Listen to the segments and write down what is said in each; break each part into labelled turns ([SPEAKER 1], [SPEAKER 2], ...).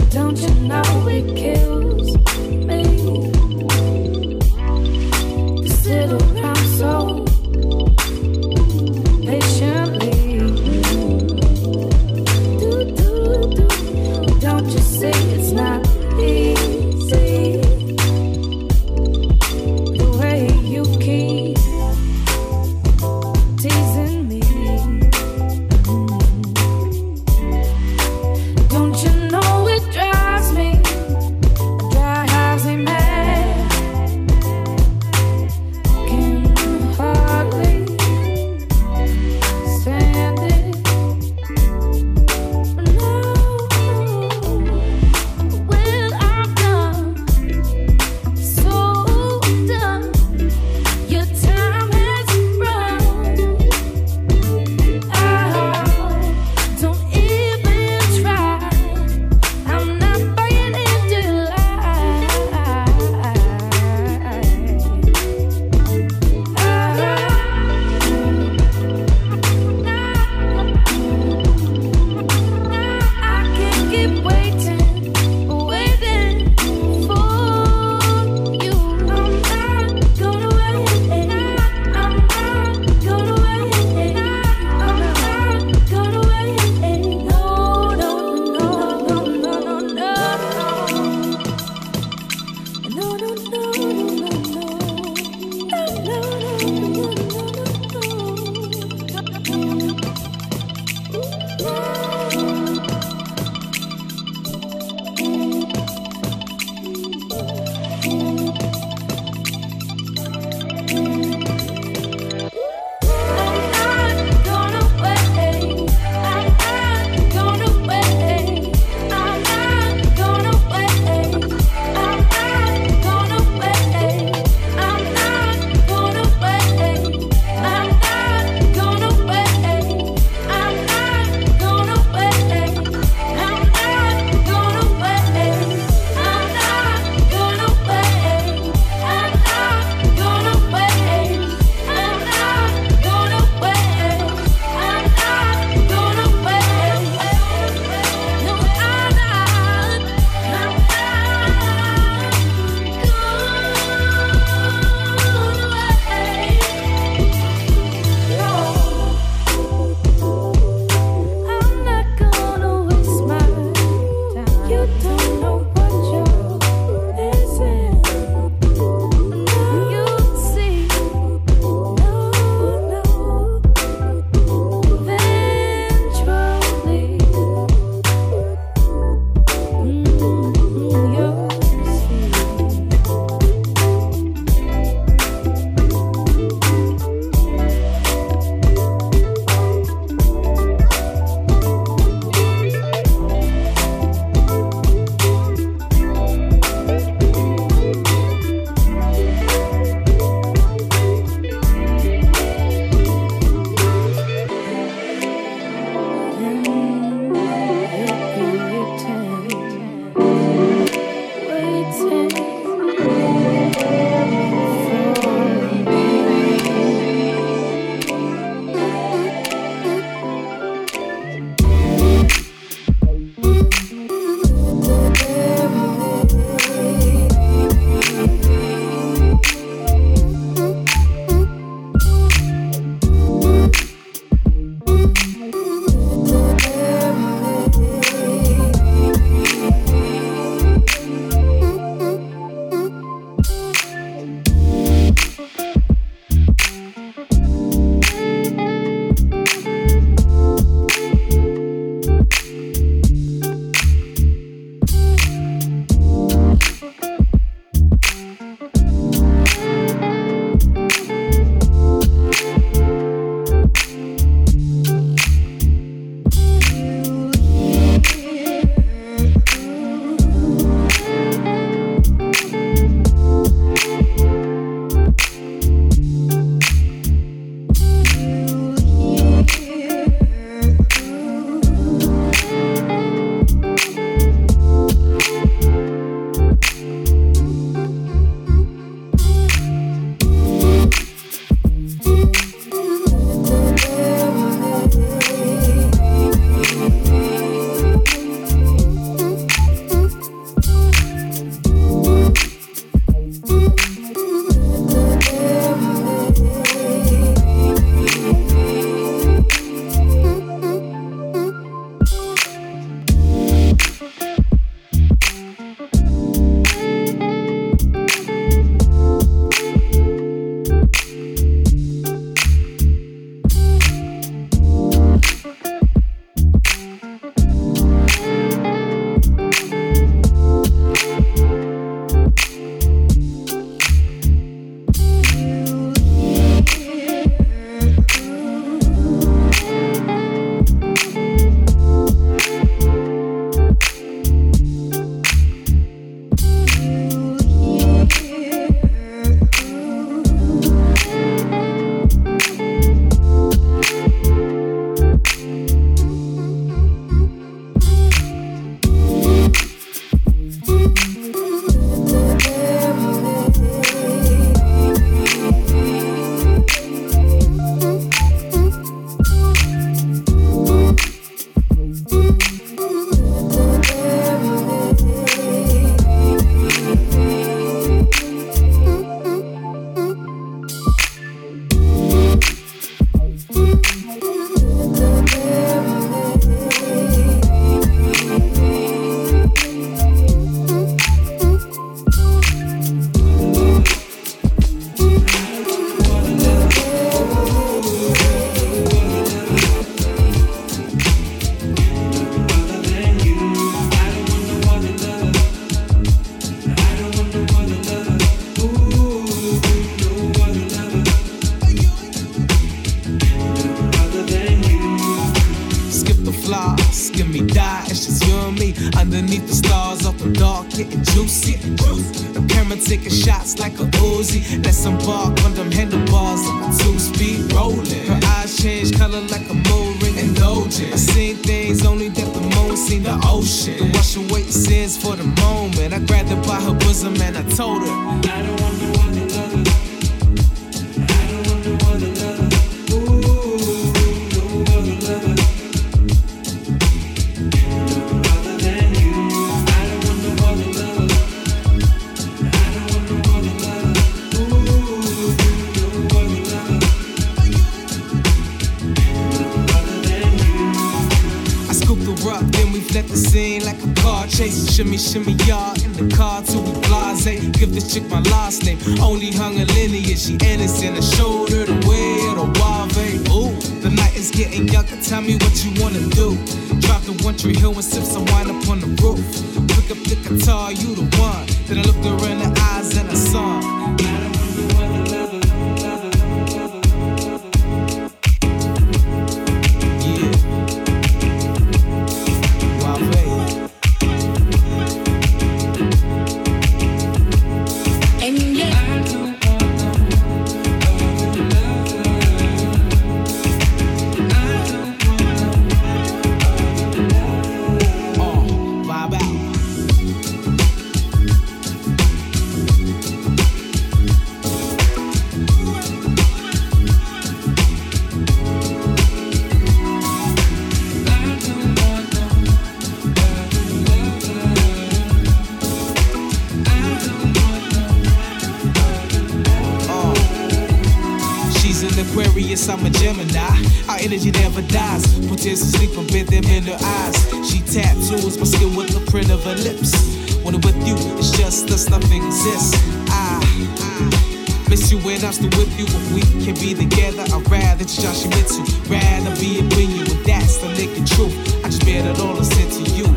[SPEAKER 1] Don't you know it kills me to sit around so patiently? Don't you see it's not easy the way you keep teasing me? Don't you know it drives me
[SPEAKER 2] underneath the stars, off the dark, getting juicy. The camera taking shots like a Uzi. Let's embark on them handlebars like a two-speed rolling. Her eyes change color like a moon ring, indulgent. I seen things only that the moon seen, the ocean. To wash away sins for the moment. I grabbed her by her bosom and I told her, I don't want no other lover. I don't want no other lover. Ooh, no other lover. Let the scene like a car chase. Shimmy, shimmy, y'all in the car till we blase. Give this chick my last name. Only hung a lineage. She innocent. I showed her the way of the Wave. Ooh, the night is getting younger. Tell me what you wanna do. Drop the One Tree Hill and sip some wine up on the roof. Pick up the guitar, you the one. Then I looked her in the eyes and I saw her. Aquarius, I'm a Gemini. Our energy never dies. Put tears to sleep and bathe them in her eyes. She tattoos my skin with the print of her lips. When I'm with you, it's just us, nothing exists. I miss you when I'm still with you. If we can be together, I'd rather just you into. Rather be it when you, and that's the naked truth. I just bear it all and send to you.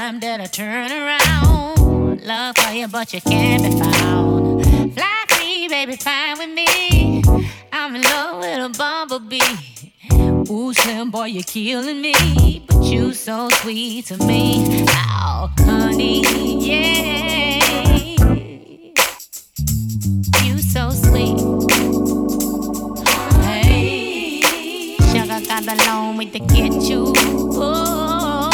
[SPEAKER 3] time that I turn around. Love for you, but you can't be found. Fly free, baby, fine with me. I'm in love with a bumblebee. Ooh, Slim boy, you're killing me, but you so sweet to me. Oh, honey, yeah. You so sweet. Hey, sugar got the long way to get you. Oh,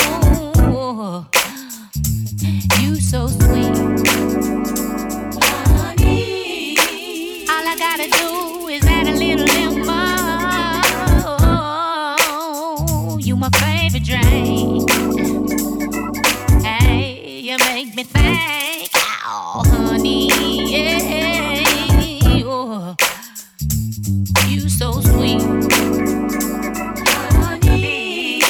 [SPEAKER 3] you so sweet. Honey, all I gotta do is add a little lemon. You my favorite drink. Hey, you make me think. Oh, honey, yeah. Oh, you so sweet. Honey.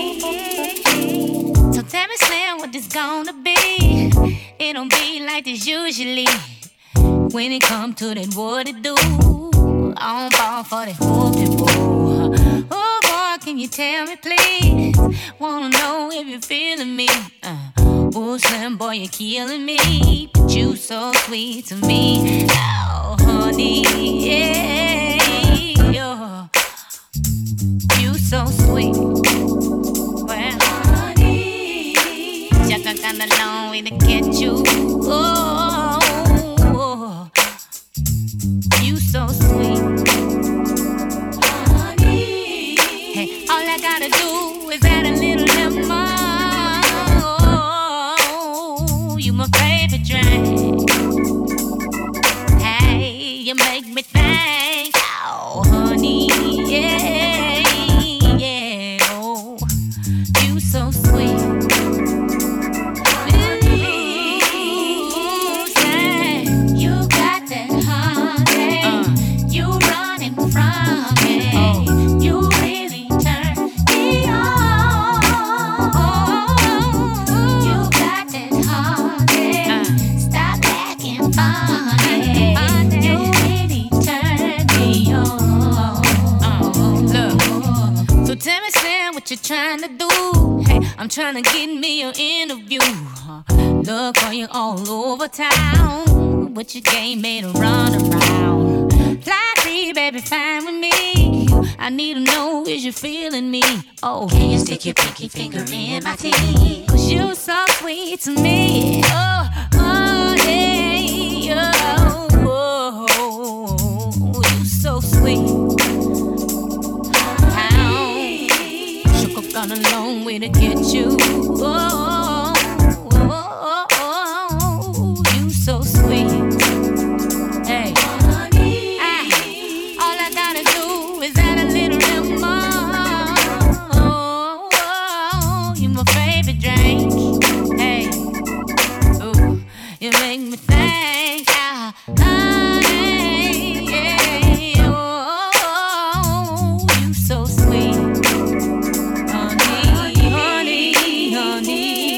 [SPEAKER 3] So tell me, Slim, what this gonna be? It don't be like this usually. When it come to that, what it do? I'm ball for that whoopie woo. Oh boy, can you tell me please? Wanna know if you're feeling me. Oh Slim boy, you're killing me, but you so sweet to me. Oh honey, yeah, oh, you so sweet. Well, honey, just a kinda long way to get you. Oh, you so sweet. Honey, hey, all I gotta do is add a little lemon. Oh, you my favorite drink. Hey, you make me think. Oh, honey, yeah, yeah. Oh, you so sweet. What you trying to do? Hey, I'm trying to get me an interview. Look for you all over town, but your game made a run around. Fly free, baby, fine with me. I need to know, is you feeling me? Oh, can you stick your pinky finger in my teeth? Cause you so sweet to me. Oh, oh, yeah, oh, oh, you so sweet. Gone a long way to get you. Oh, oh, oh, you so sweet. Hey, honey, all I gotta do is add a little lemon. Oh, you my favorite drink. Hey, ooh, you make me think. Honey, yeah, oh, you so sweet. Honey,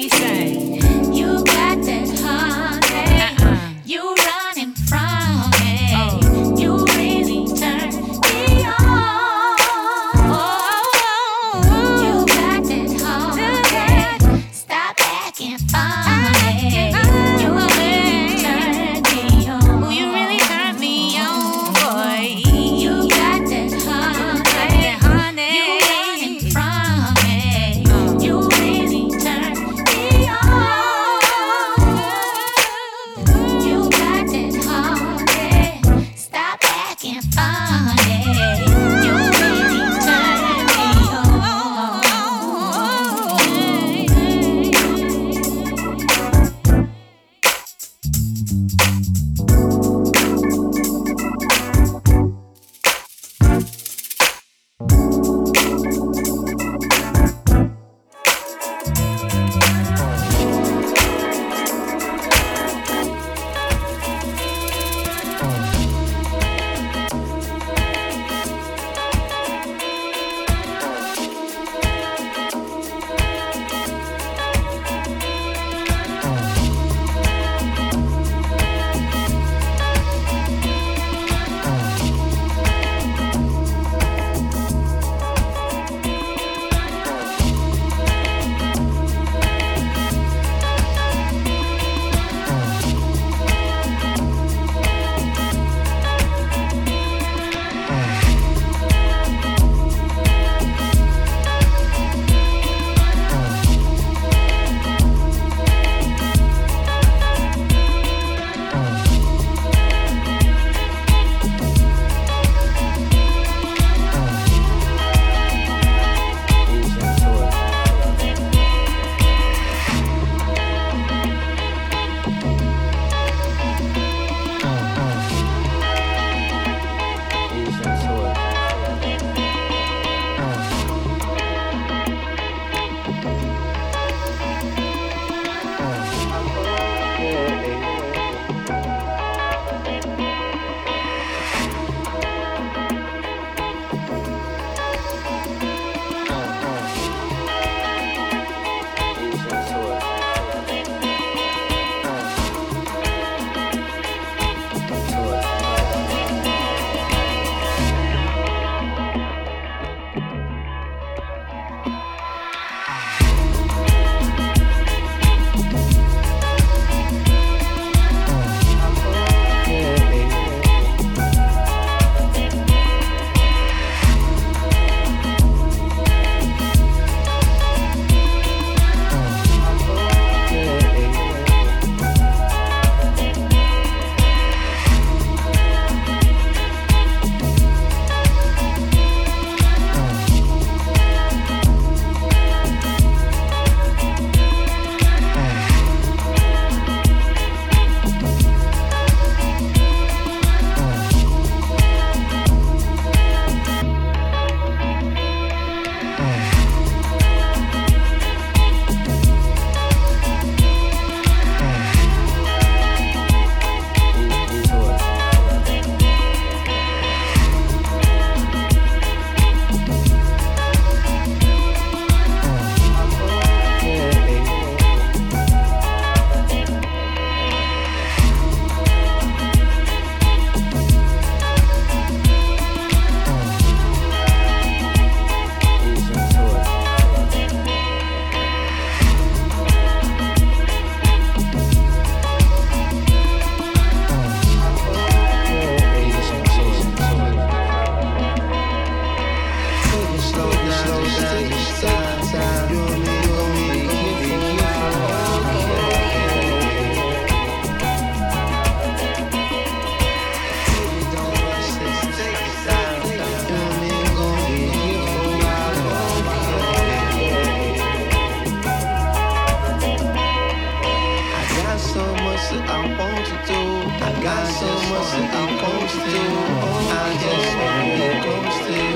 [SPEAKER 2] so much that I want to do. I just wanna get close to you,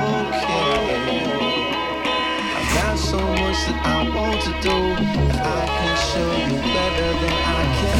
[SPEAKER 2] okay? I've got so much that I want to do. If I can show you better than I can.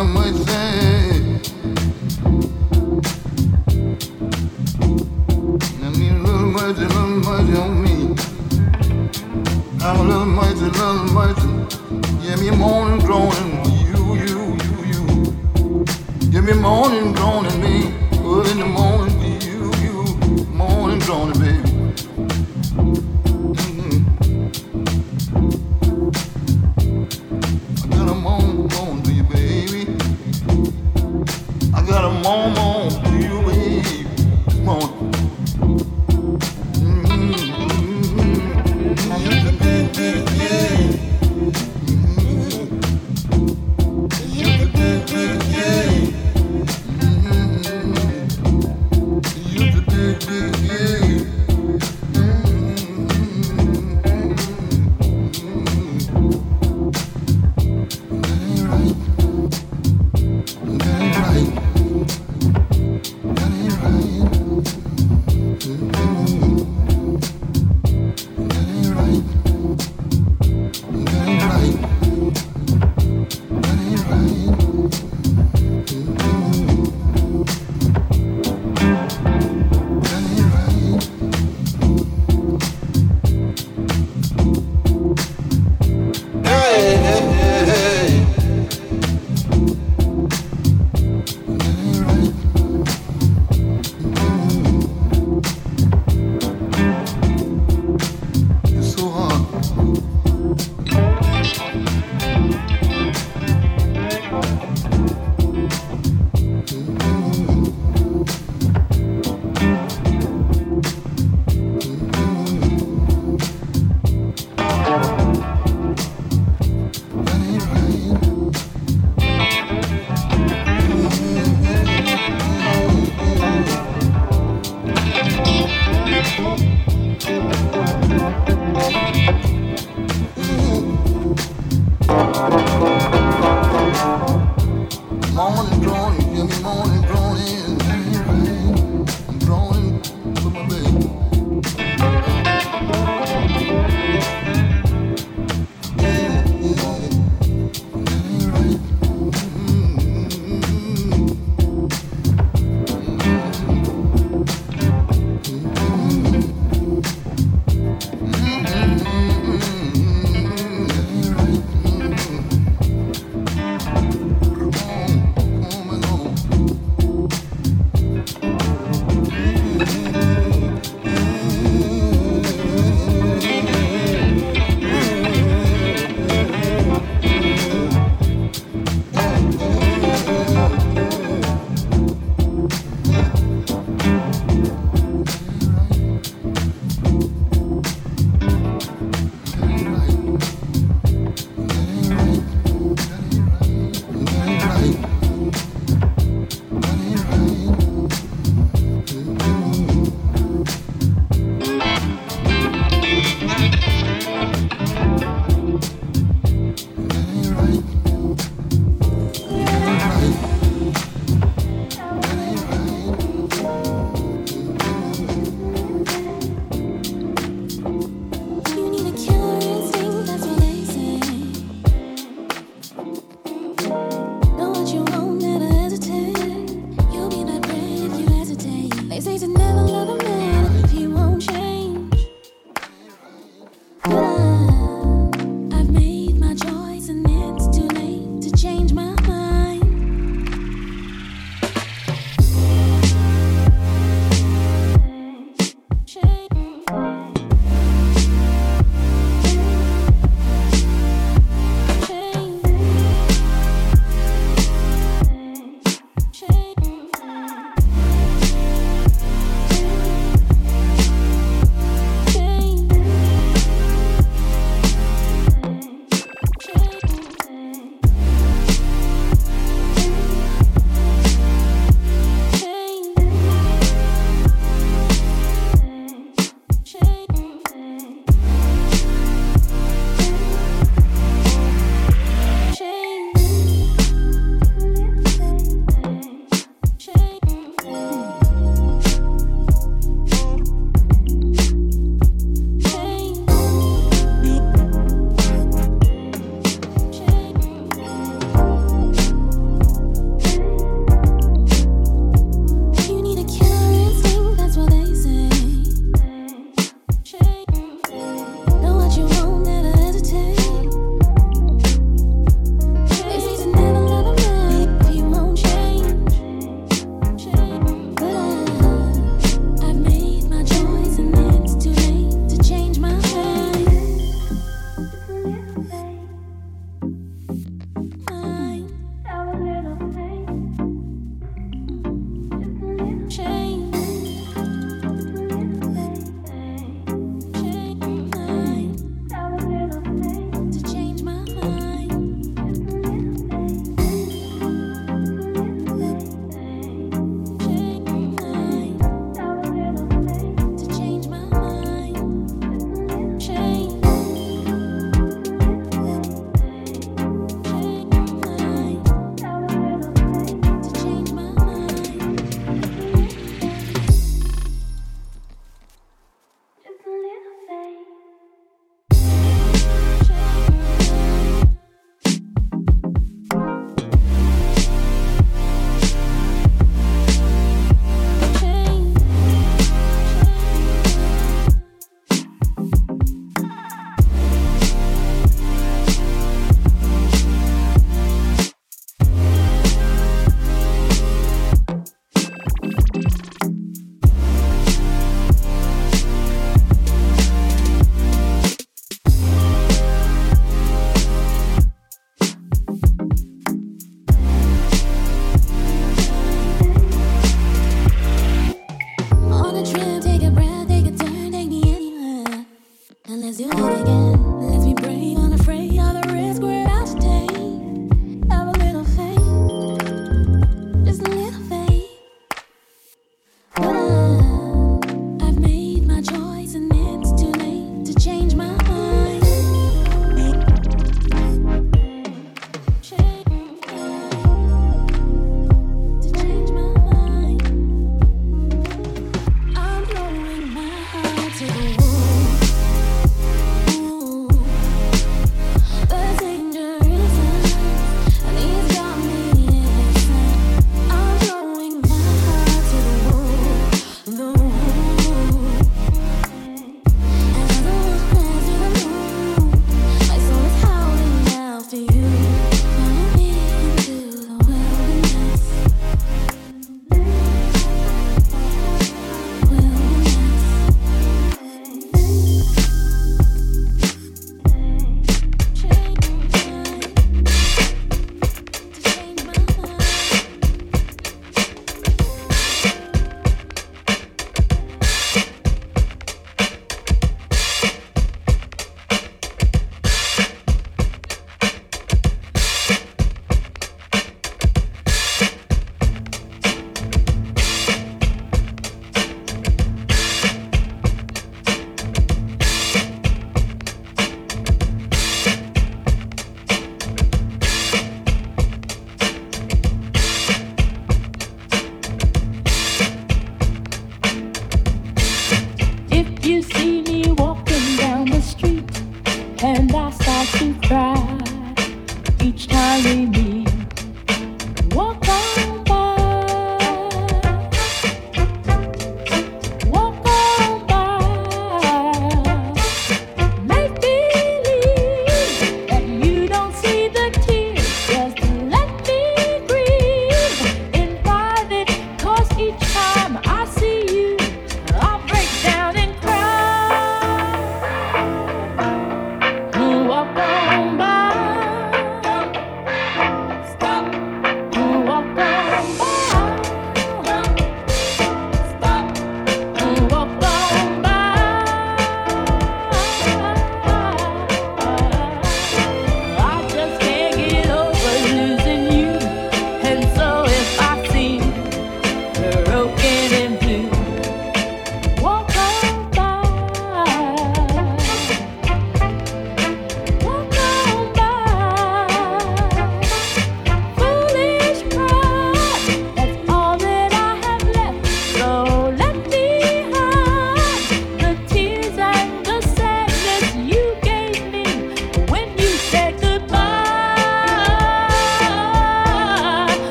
[SPEAKER 4] I might say, I need a little mercy on me. I'm a little mercy. Give me morning groaning, you. Give me morning groaning, me. Early in the morning, you. Morning groaning, baby. I got a moan to you, baby. I got a moan to you, baby. This morning. Yeah.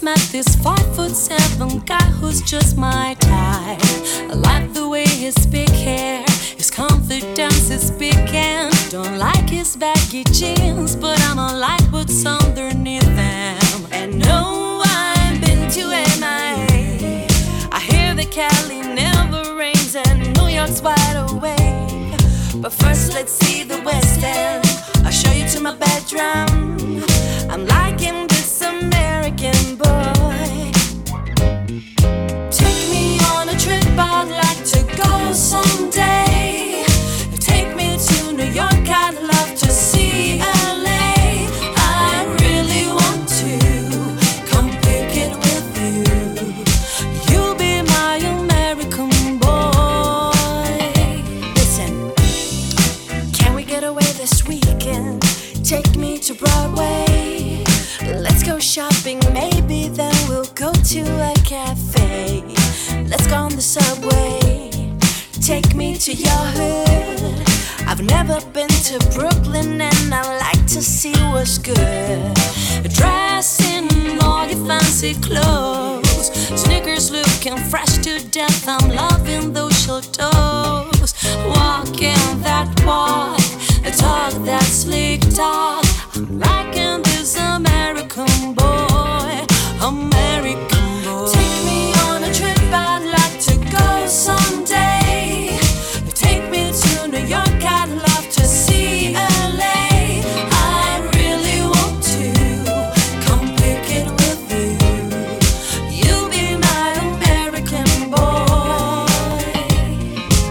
[SPEAKER 1] met this 5'7" guy who's just my type. I like the way he speak hair, his confidence is speaking. Don't like his baggy jeans, but I'ma like what's underneath them. And no, I've been to MIA. I hear that Cali never rains and New York's wide awake. But first let's see the West End. I'll show you to my bedroom. I'm liking this American boy. Take me on a trip, I'd like to go someday. Take me to New York, I'd love to see LA. I really want to come pick it with you. You'll be my American boy. Listen, can we get away this weekend? Take me to Broadway. Let's go shopping, maybe then we'll go to a cafe. Let's go on the subway. Take me to your hood. I've never been to Brooklyn and I like to see what's good. Dress in all your fancy clothes, sneakers looking fresh to death. I'm loving those short toes. Walking that walk, talk that sleek talk. I'm liking this American boy, American boy. Take me on a trip, I'd like to go someday. Take me to New York, I'd love to see LA. I really want to come pick it with you. You'll be my American boy.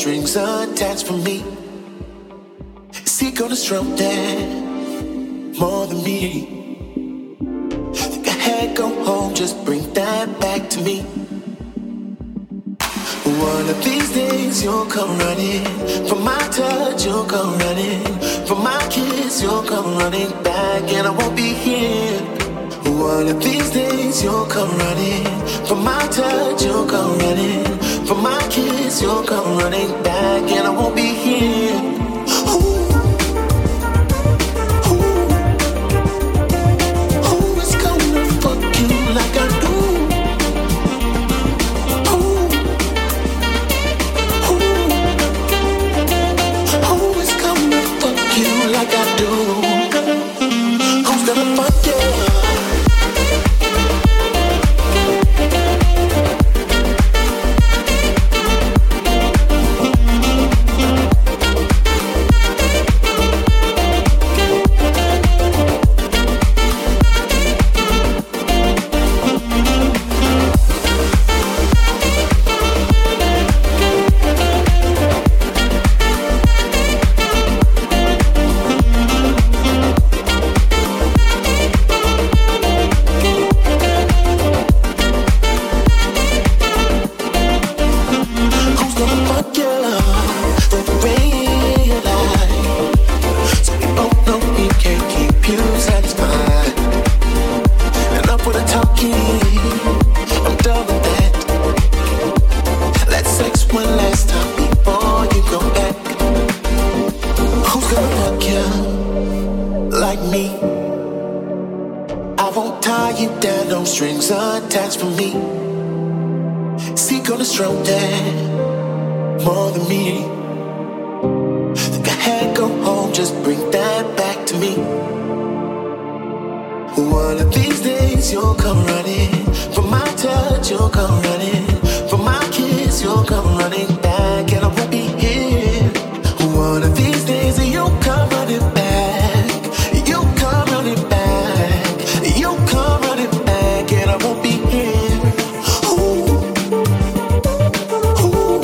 [SPEAKER 5] strings attached for me? Is he gonna stroke that more than me? Think I had go home, just bring that back to me. One of these days you'll come running. For my touch you'll come running. For my kiss you'll come running back, and I won't be here. One of these days you'll come running. For my touch you'll come running. For my kiss you'll come running back, and I won't be here. Ooh. Who is gonna fuck you like I do? Like I do. Who's gonna fuck you? Attached for me. Is he gonna stroke that more than me? Think I had go home, just bring that back to me. One of these days you'll come running. For my touch you'll come running. For my kiss you'll come running back, and I won't be here. One of these days you'll come running back. You'll come running back. You'll come running back, and I won't be here. Ooh. Ooh.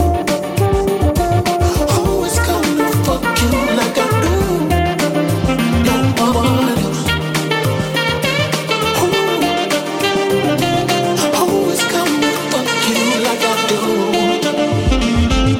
[SPEAKER 5] Who is gonna fuck you like I do? No one else. Who is gonna fuck you like I do?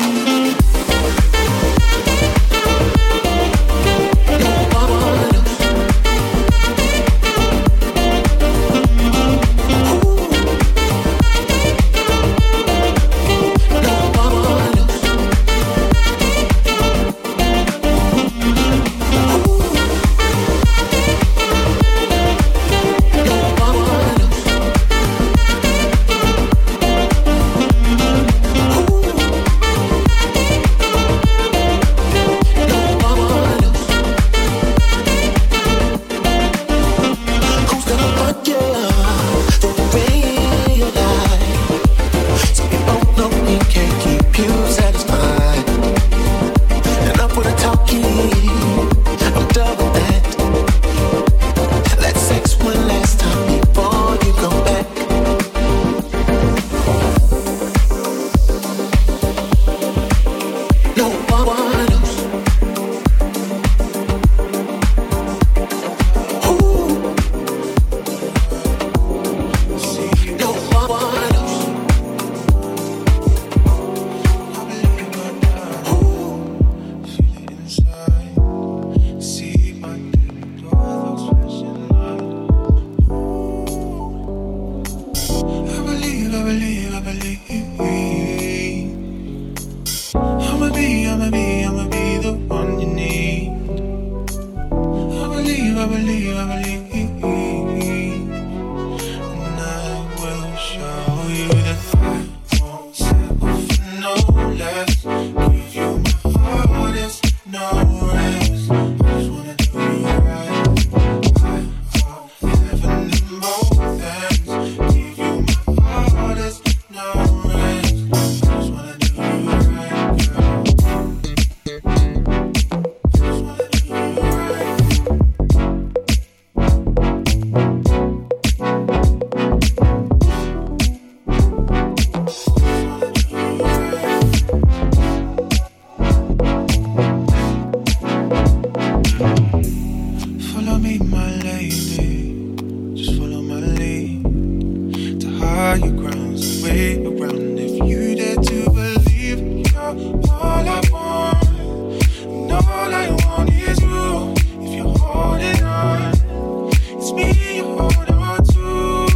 [SPEAKER 6] higher grounds, way around. If you dare to believe, you're all I want, and all I want is you. If you're holding on, it's me you're holding on to.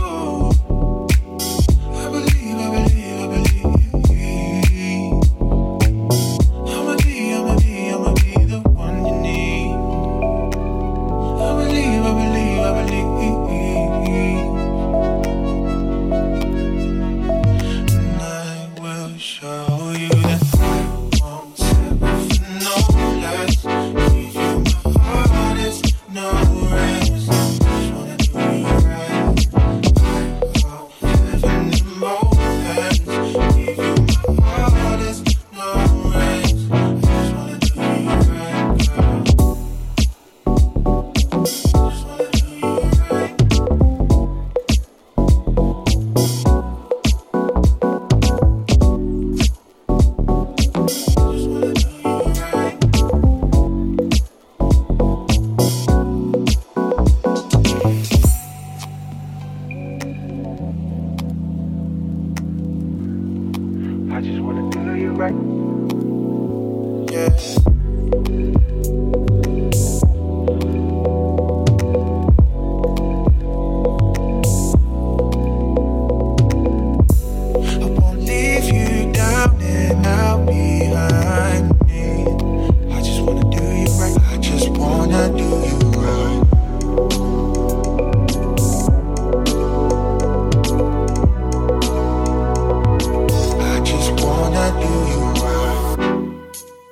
[SPEAKER 6] I believe, I believe, I believe. I'ma be the one you need. I believe, I believe, I believe. And I will show you that I won't settle for no less. Give you my hardest, no rest. Just wanna do you right. I heaven in both hands. Give you my hardest, no rest. Just wanna do you right, girl. Just wanna do you right. Just wanna do you right. I just wanna do you right. Yeah. I won't leave you down and out behind me. I just wanna do you right. I just wanna do you right. I just wanna do you right.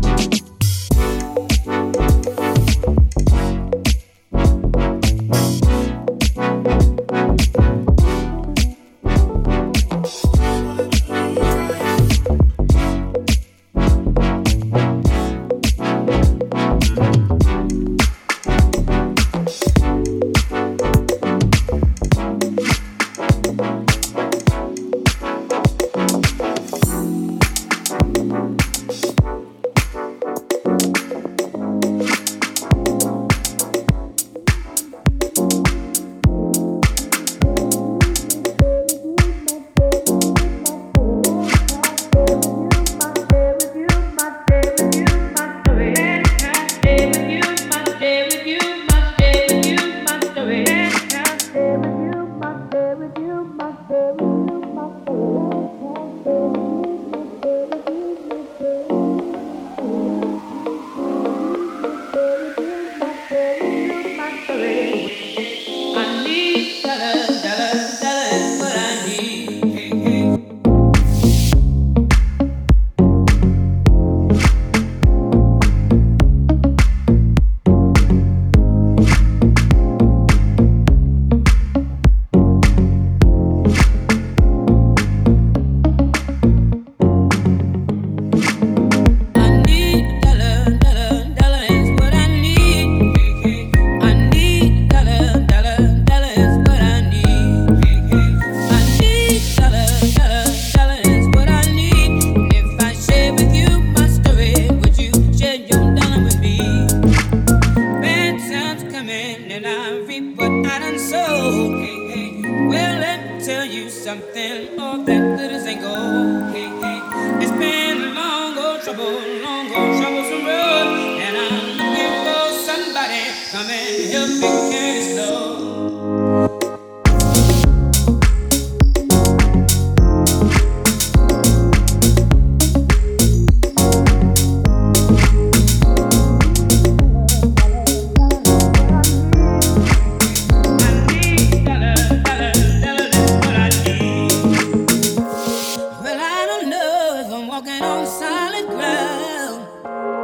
[SPEAKER 7] Something of that glitters ain't gold. Hey, hey. It's been a long old troublesome road, and I'm looking for somebody come and help me carry this load. Well, I don't know if I'm walking on solid ground.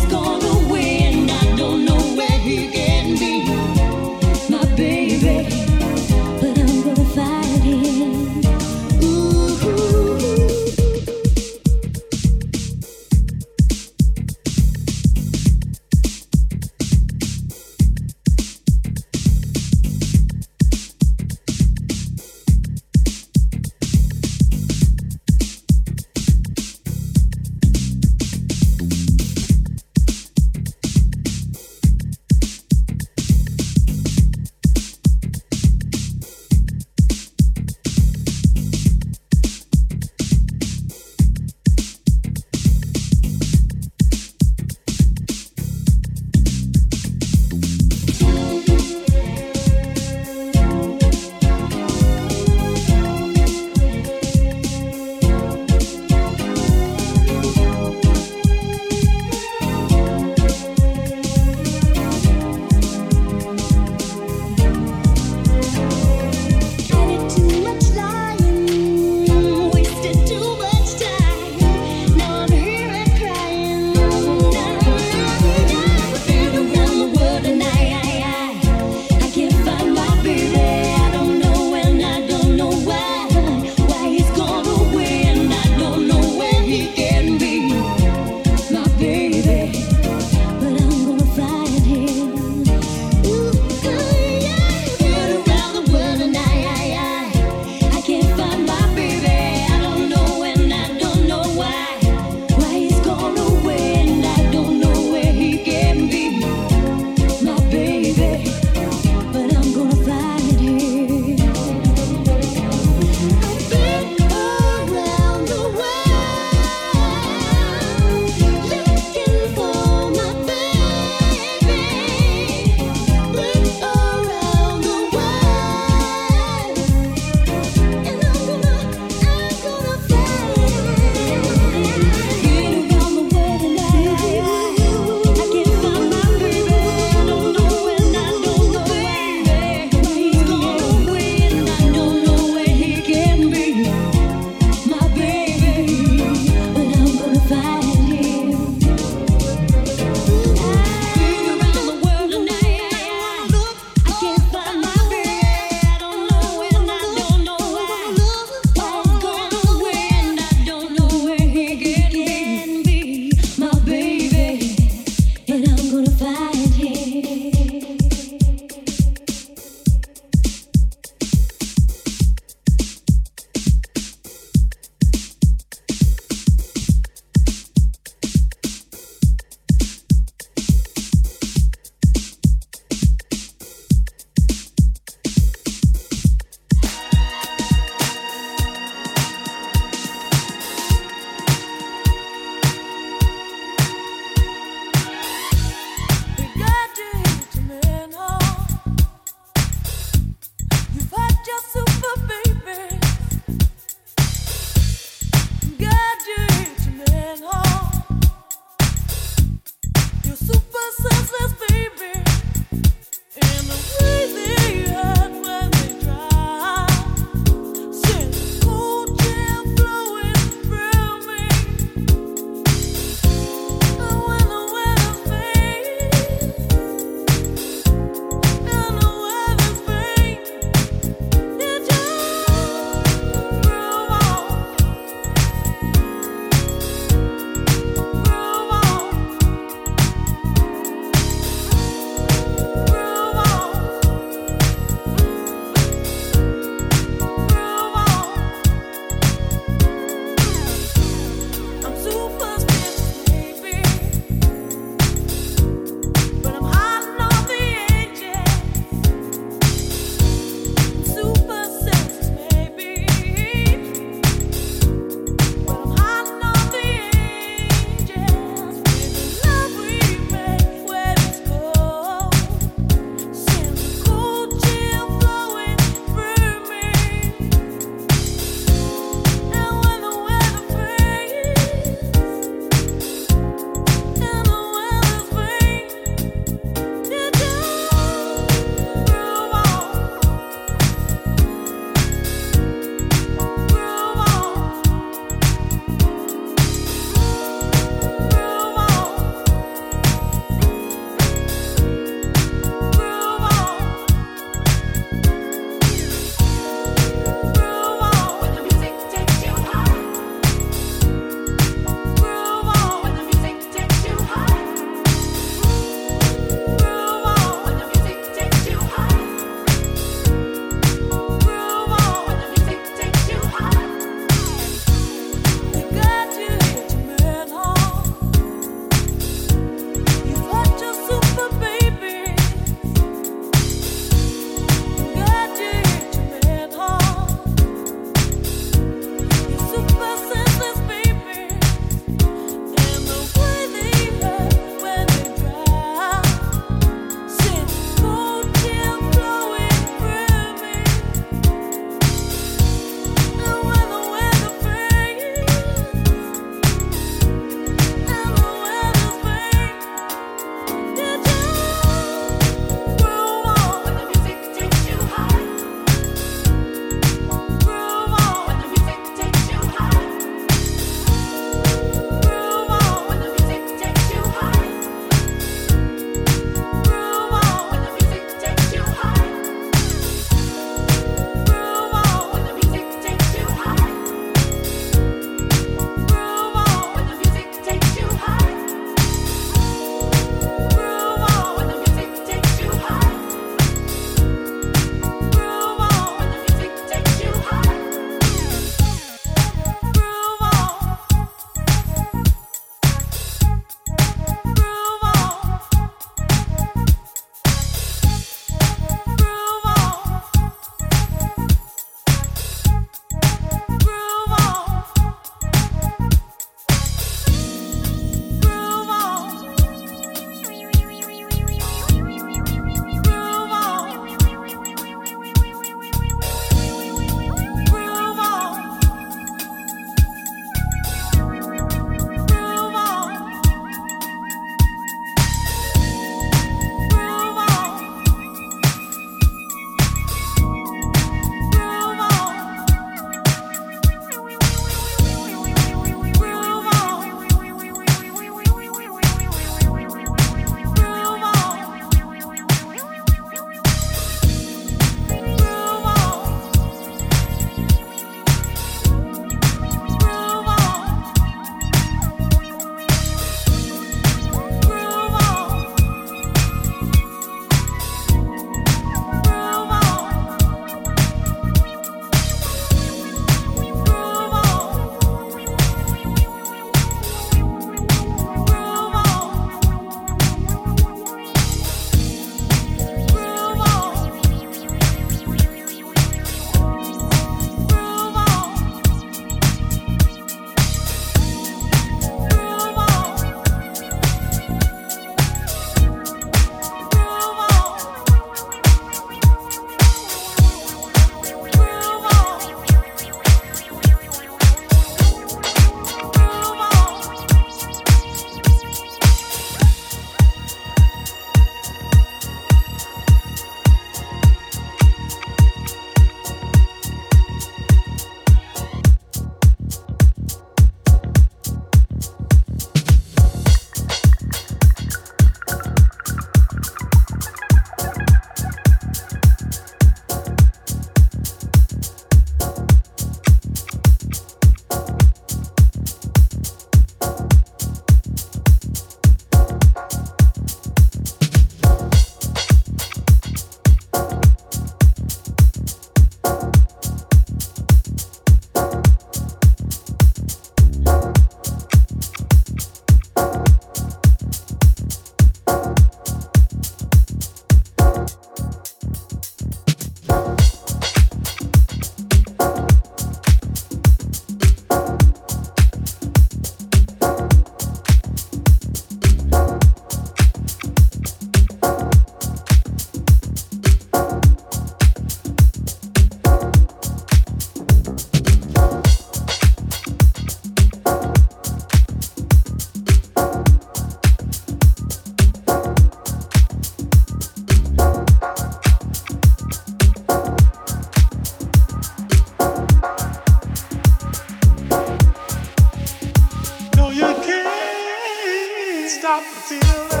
[SPEAKER 6] stop the feeling.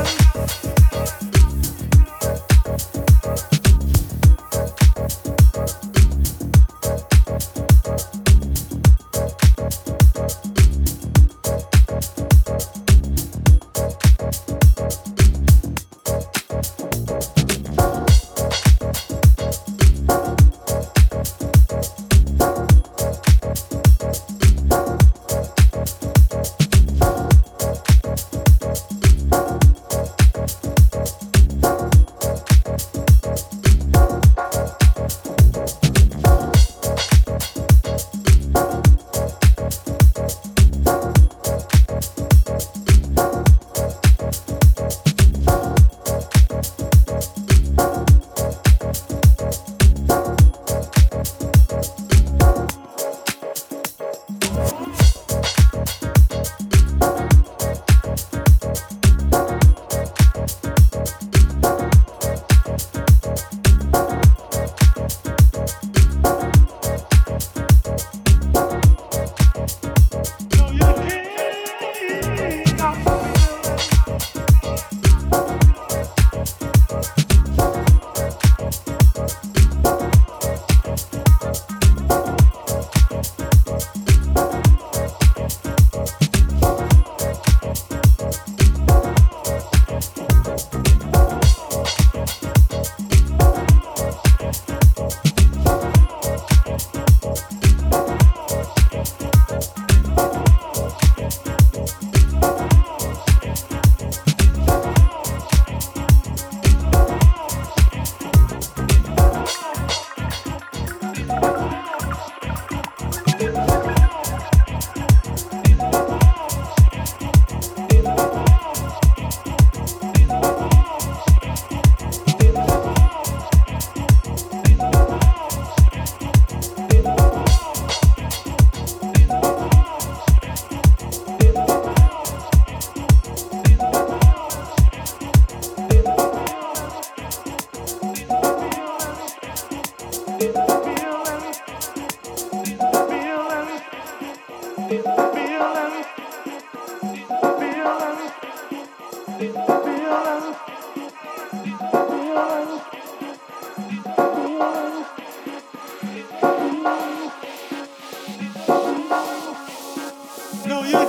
[SPEAKER 6] No, you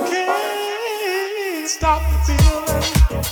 [SPEAKER 6] can't stop the feeling.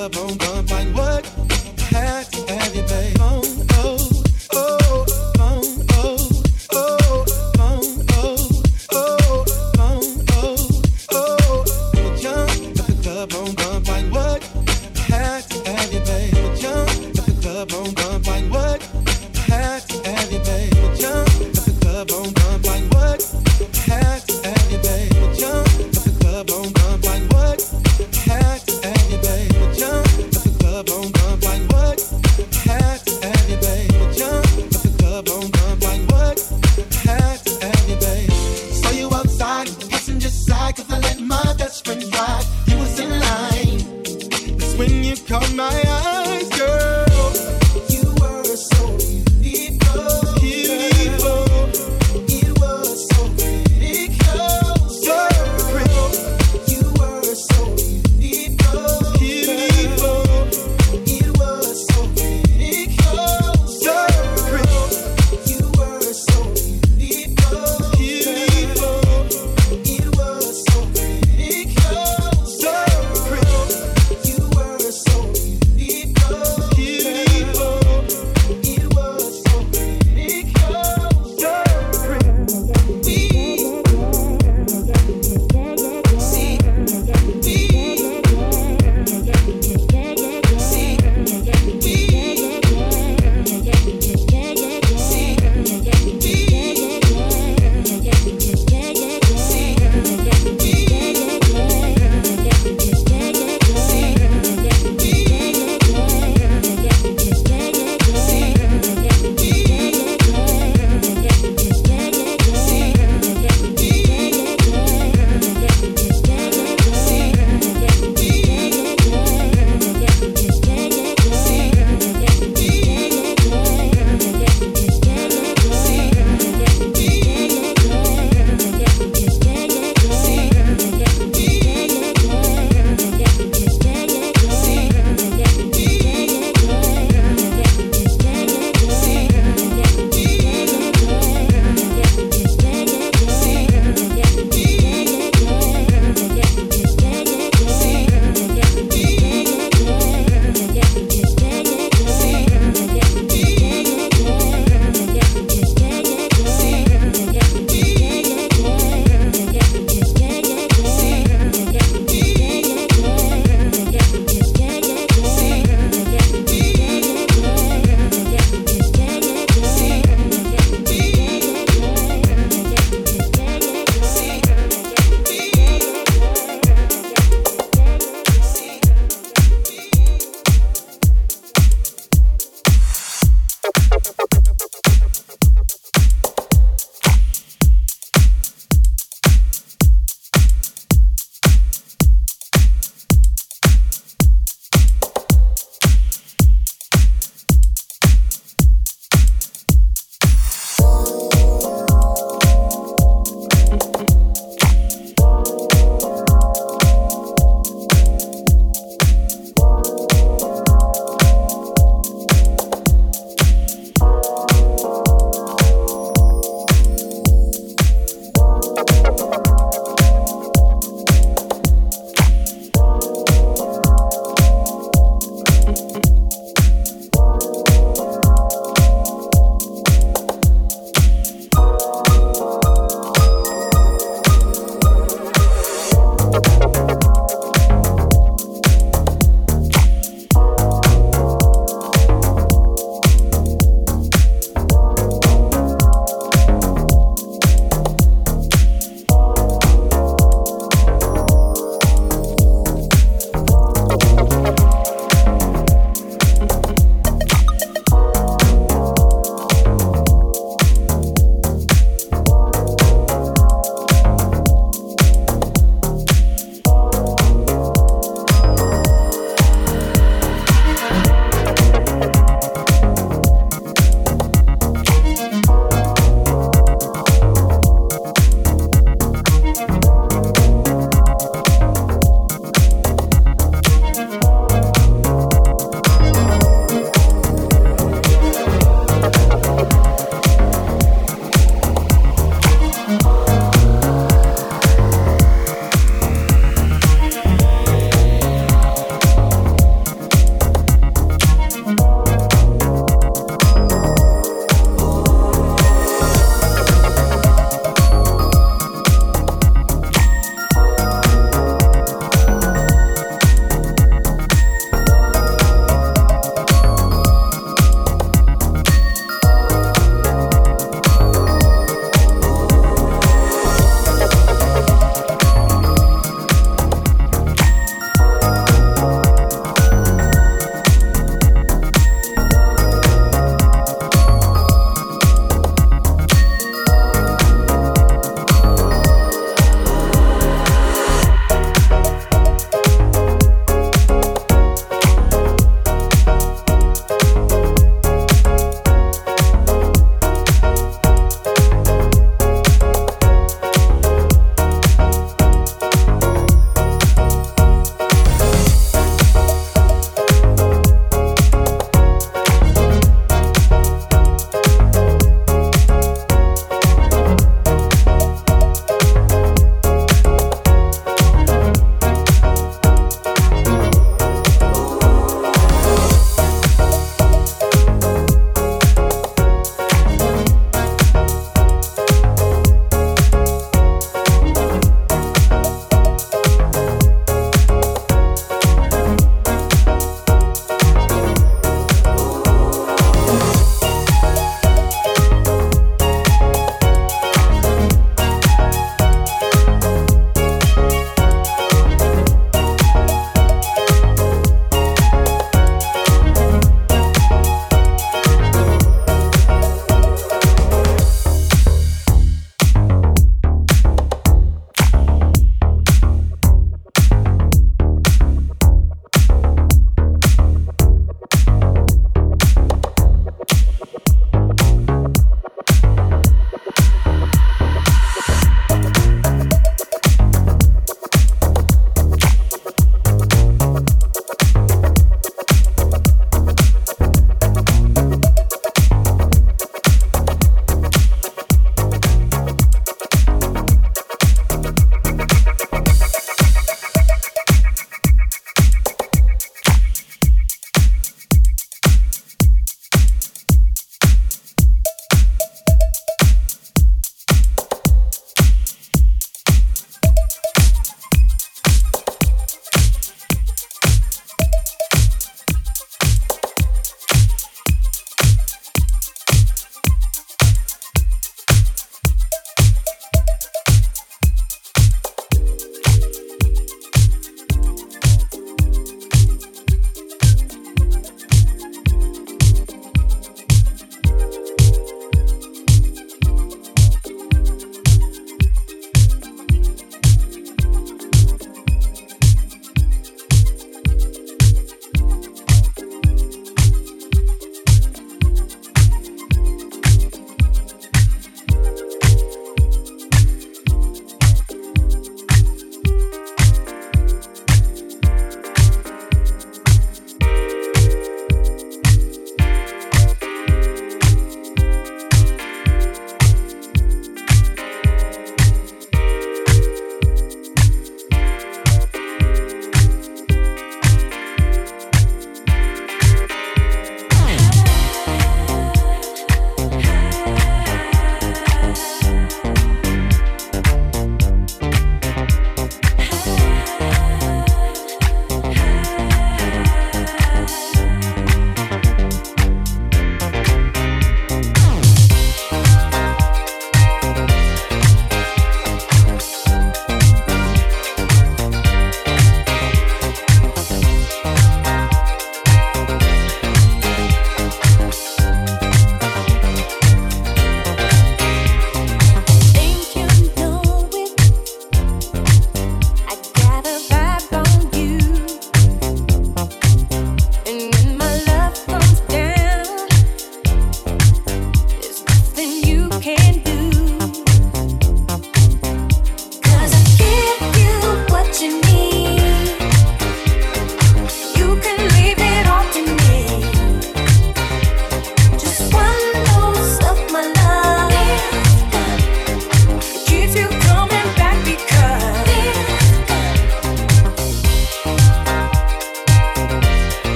[SPEAKER 6] club on gunfight. What? Had to have you, babe. Oh, oh, oh, oh, oh, oh, oh, oh, oh, oh. Jump at the club on gunfight. What? Had to have you, babe. Jump at the club on gunfight. What? Had to have you, babe. Jump at the club on gunfight. What? Had to have you, babe. Jump at the club on gunfight. What? Had to have you, babe. Jump at the club on gunfight. What? Had to have you, babe. Jump at the club on gunfight. What? Had to have you, babe. Saw you outside, passenger side, 'cause I let my best friend ride. You was in line. That's when you caught my eye.